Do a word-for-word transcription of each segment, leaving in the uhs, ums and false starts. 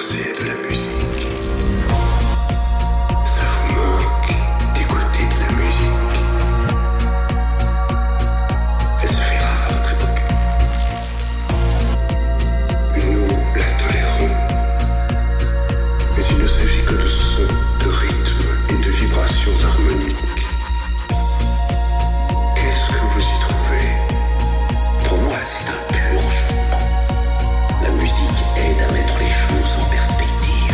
danser de la musique. Ça vous manque d'écouter de la musique. Elle se fait rare à votre époque. Nous la tolérons. Mais il ne s'agit que de sons, de rythmes et de vibrations harmoniques. Qu'est-ce que vous y trouvez? Pour moi, c'est un pur enchantement. La musique aide à mettre les choses en perspective.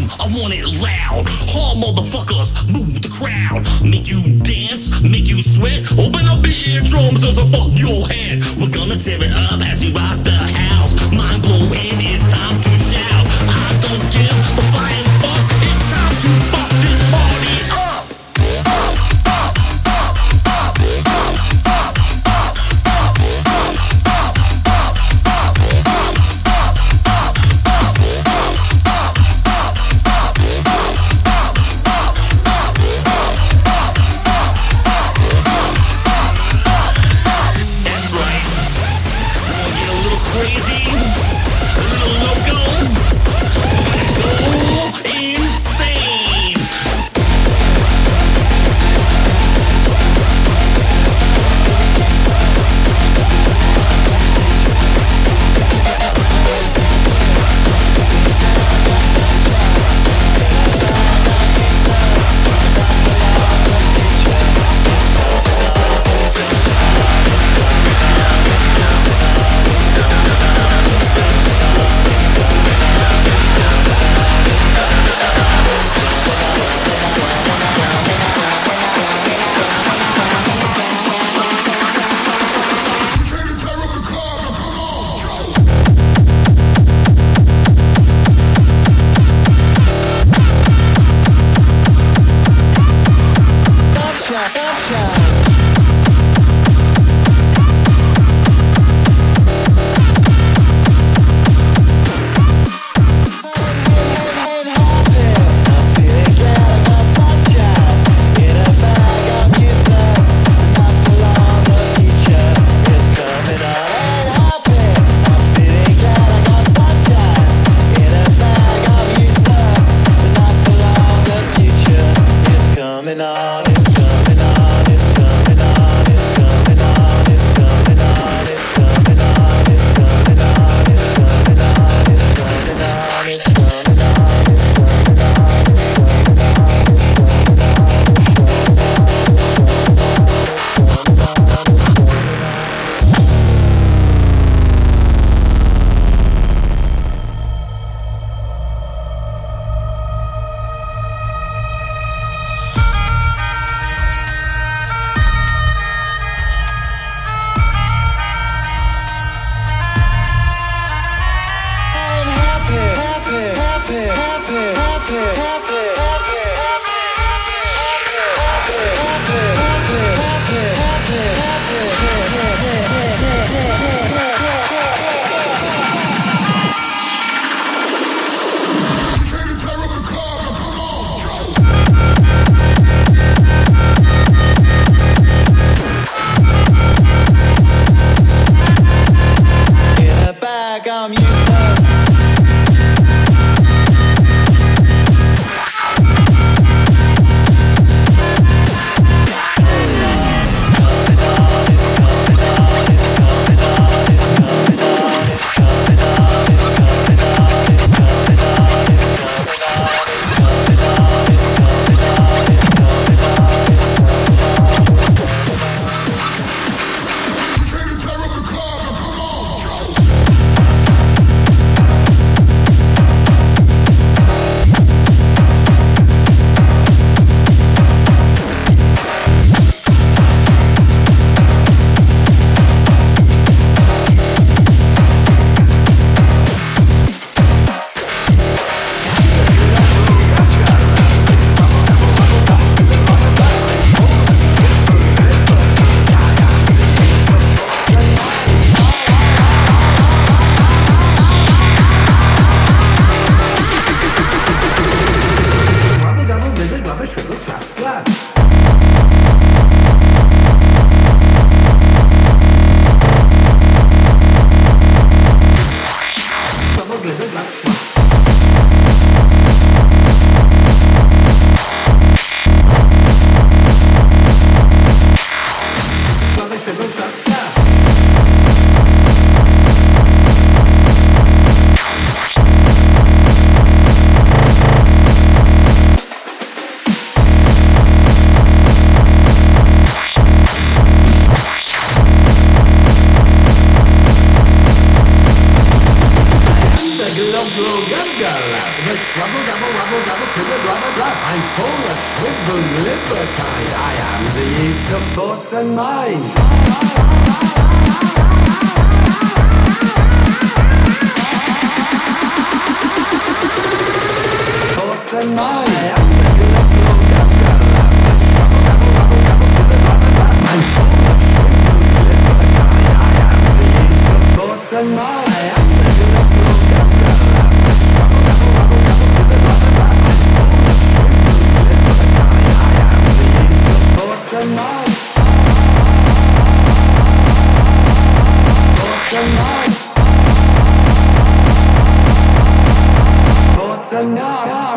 I want it loud. All motherfuckers, move the crowd. Make you dance, make you sweat. Open up the eardrums as I fuck your head. We're gonna tear it up as we rock the house. Mind blowing, it's time to shout. I don't give a flying fuck. It's time to fuck this party up. Gala, the Swabble Double Wobble kind. I am the yeast of thoughts and minds. Thoughts and minds. I am the glove, glove, glove, glove, the struggle, double, double, double to the bottom, bottom. I'm full of shrinkle, glitter kind. I am the yeast of thoughts and minds. I am the glove, glove, glove, glove, glove, the struggle, double, double, double to the bottom, bottom. I'm full of shrinkle, glitter kind. I am the yeast of thoughts and minds. Thoughts and minds. Thoughts and minds.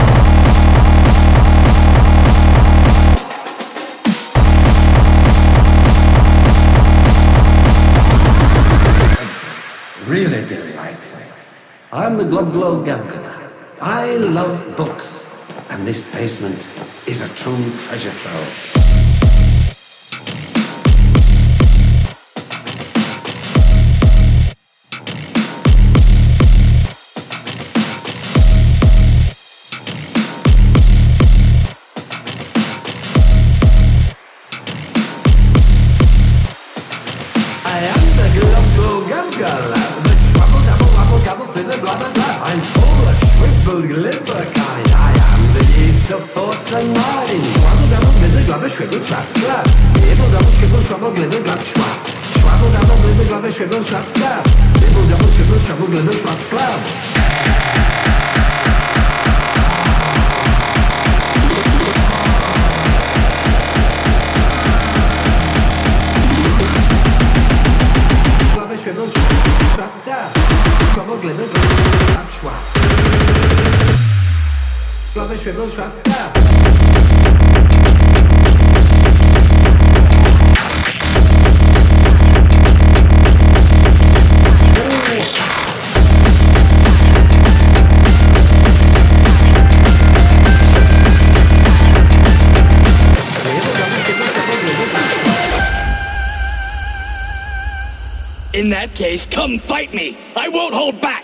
Really delightful. I'm the Glub Glow Gabkala. I love books, and this basement is a true treasure trove. I'm full of shriveled glibber kind. I am the yeast of thoughts and minds. Swabble double glibber glubber shrivel trap glub. Nibble double shrivel shrivel glibber glub schwab. Swabble double glibber glubber shrivel trap glub. Nibble double shrivel shrivel glibber schwab glub. Shrivel trap down. Trouble glimmer, trap schwab. Glove shrivel trap down. In that case, come fight me. I won't hold back.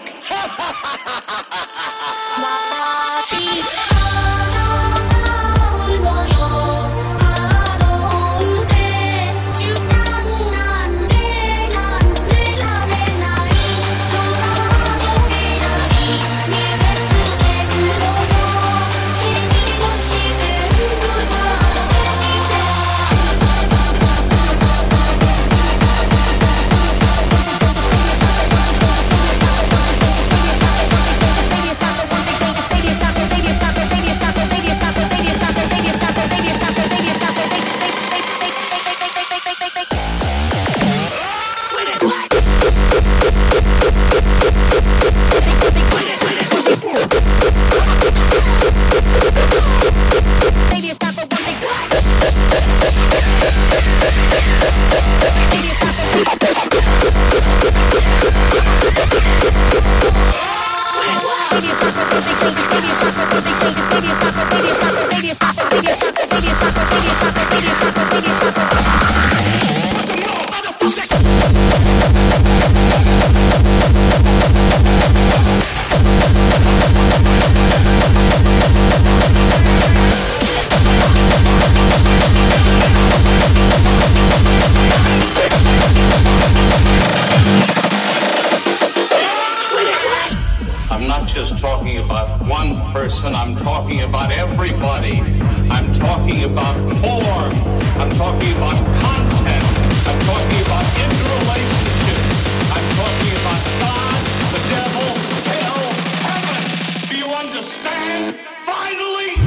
I'm talking about everybody. I'm talking about form. I'm talking about content. I'm talking about interrelationships. I'm talking about God, the devil, hell, heaven. Do you understand? Finally!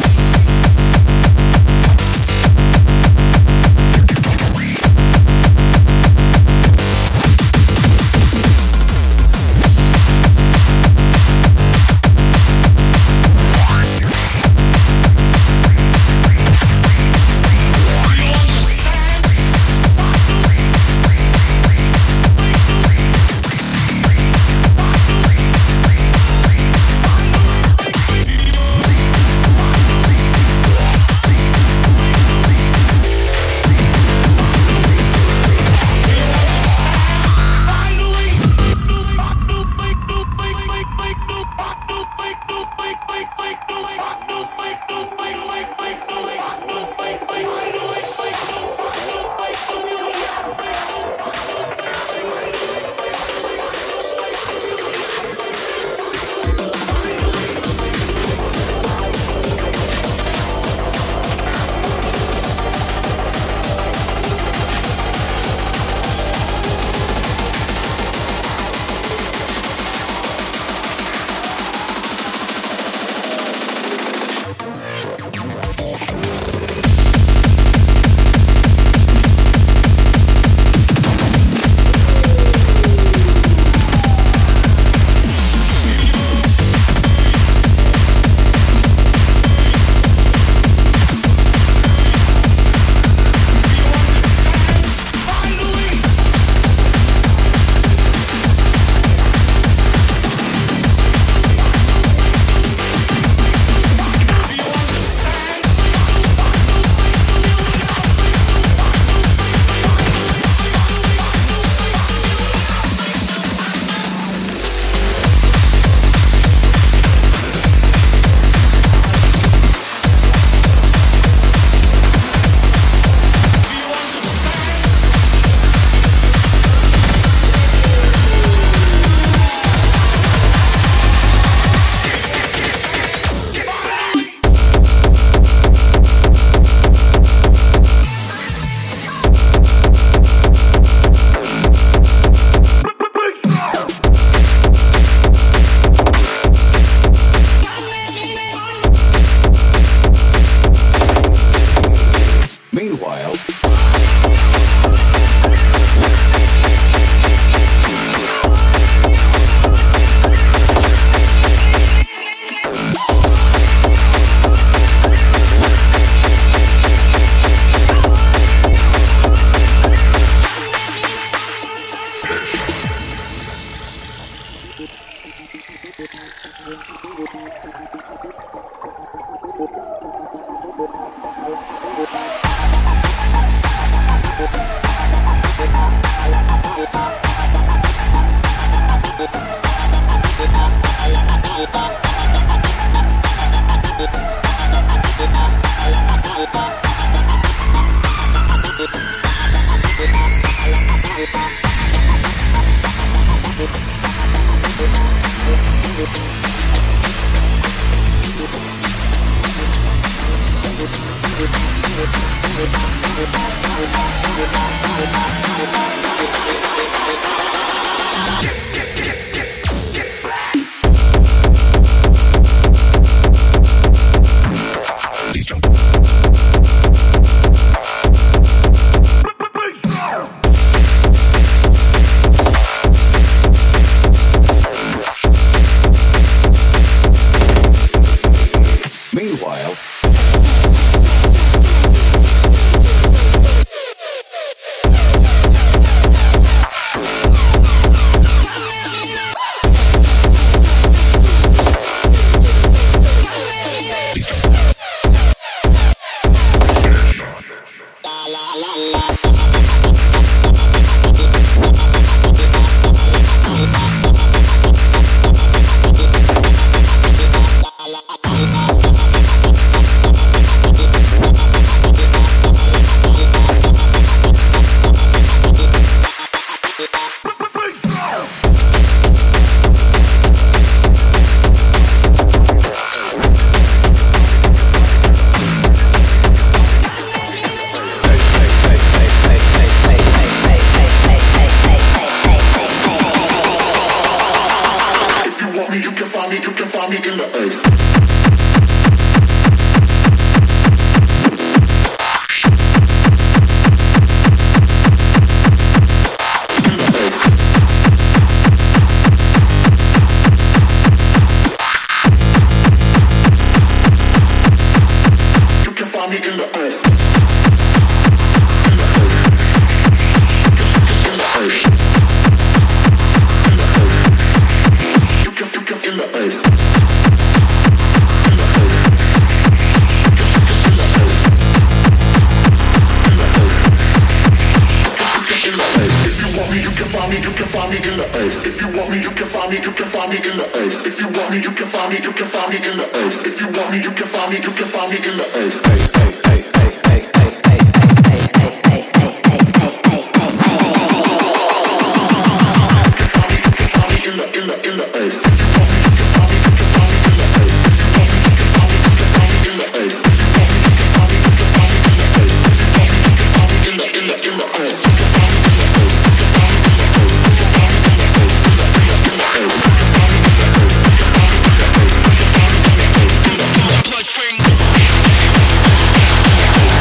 Bloodstream.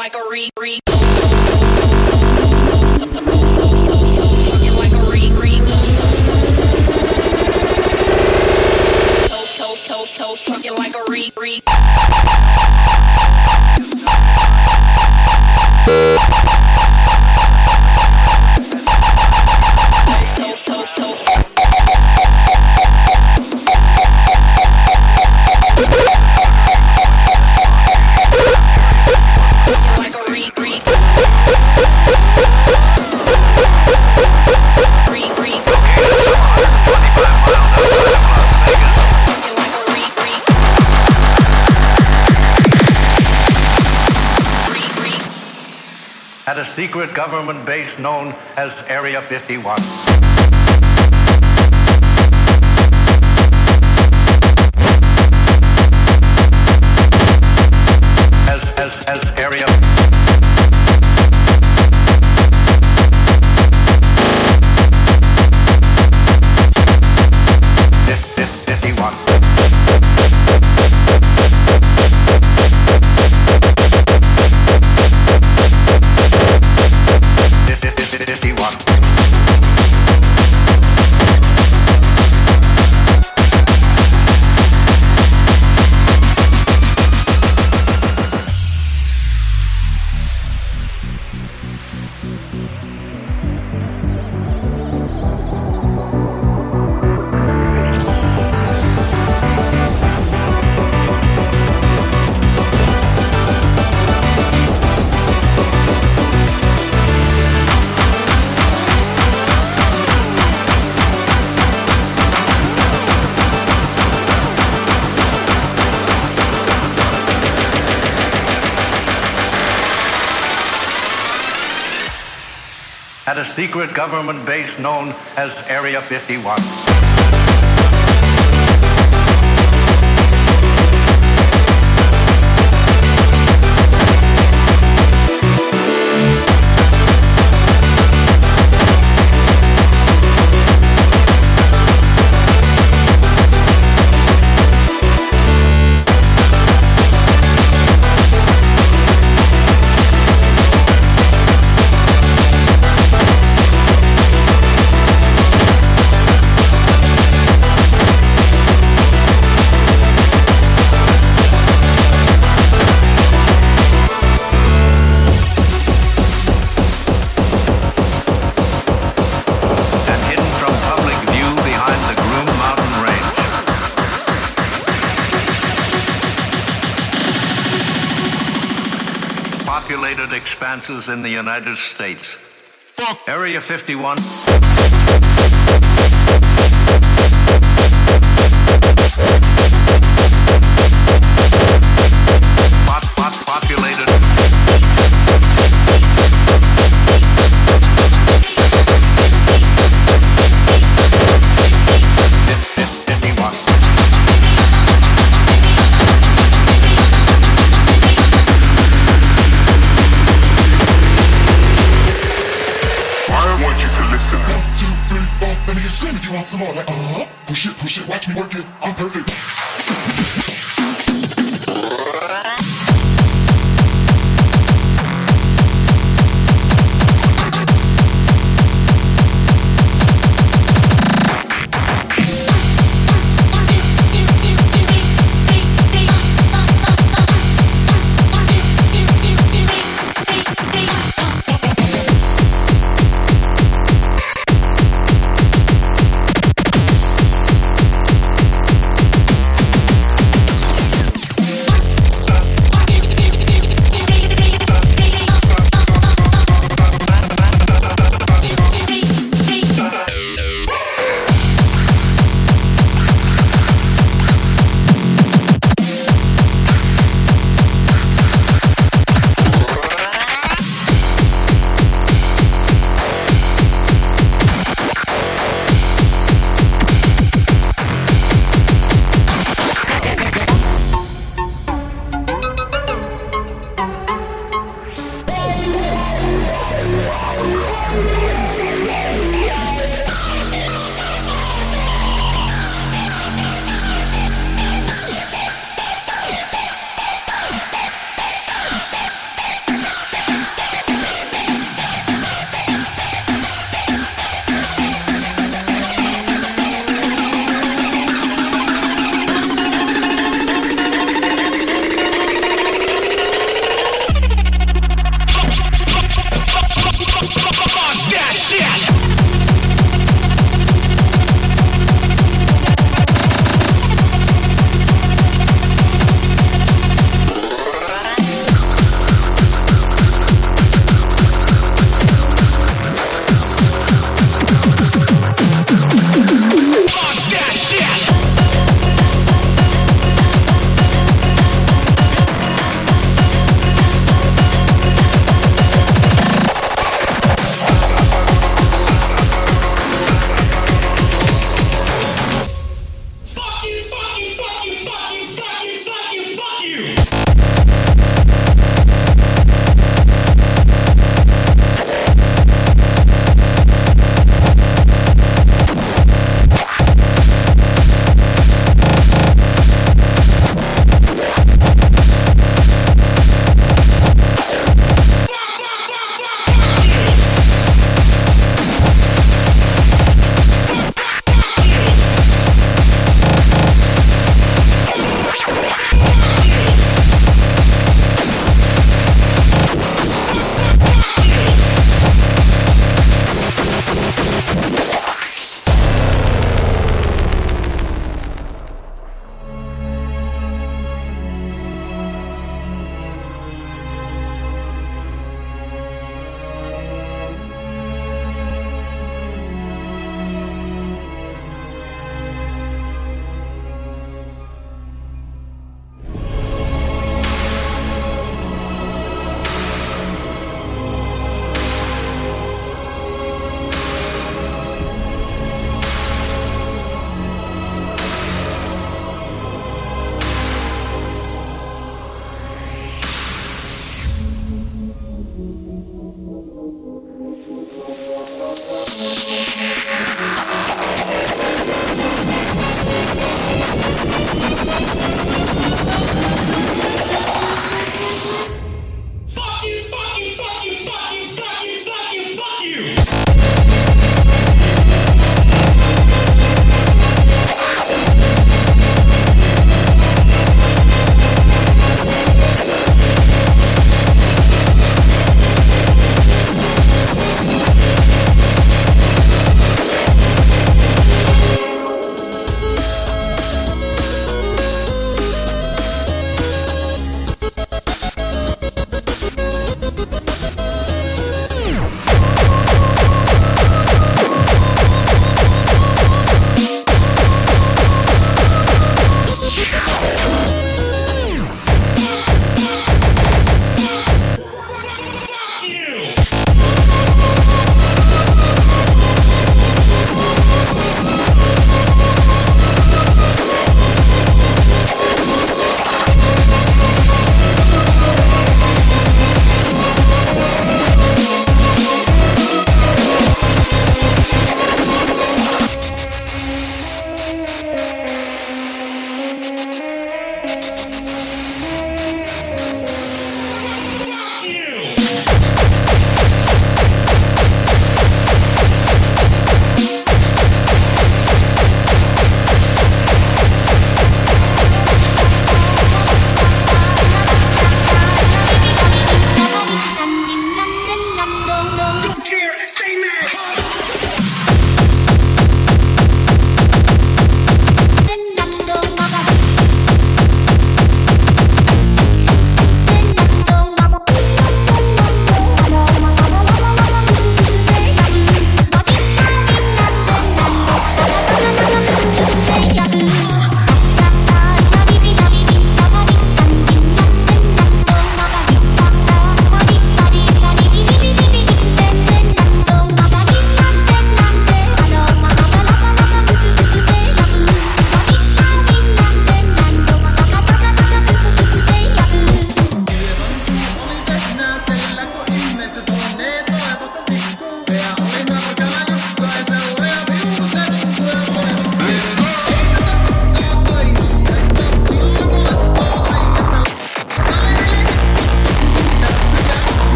like a re re Toast, toast, trucking like a re re. Toast, toast, toast. Trucking like a re re. Re re. At a secret government base known as Area fifty-one. As, as, as Area fifty-one. At a secret government base known as Area fifty-one. Populated expanses in the United States. Area fifty-one. Pop, pop, populated. fifty-one. Scream if you want some more, like, uh-huh, push it, push it, watch me work it, I'm perfect.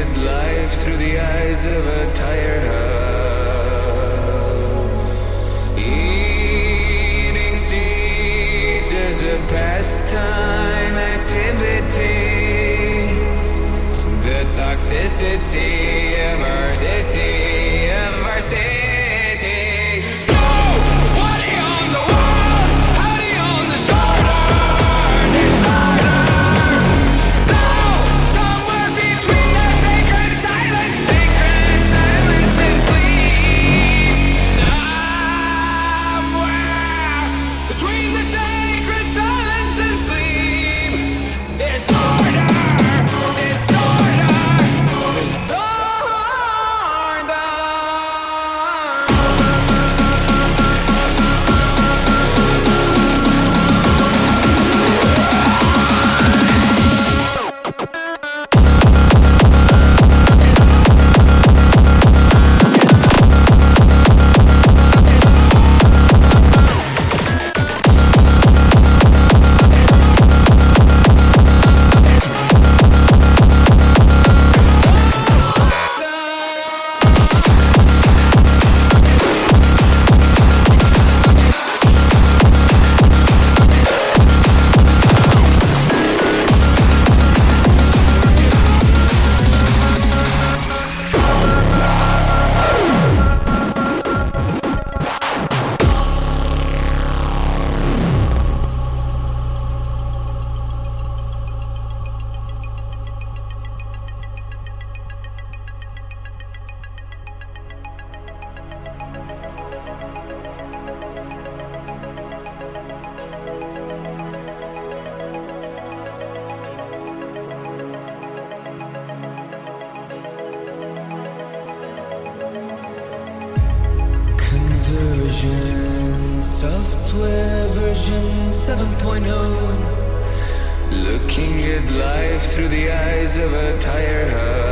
at life through the eyes of a tire hub. Eating seeds as a pastime activity. The toxicity of our city, of our city. Software version seven point oh. Looking at life through the eyes of a tire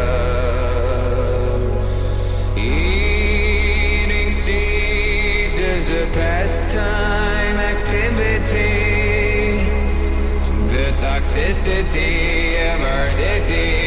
hub. Eating seeds as a pastime activity. The toxicity of our city.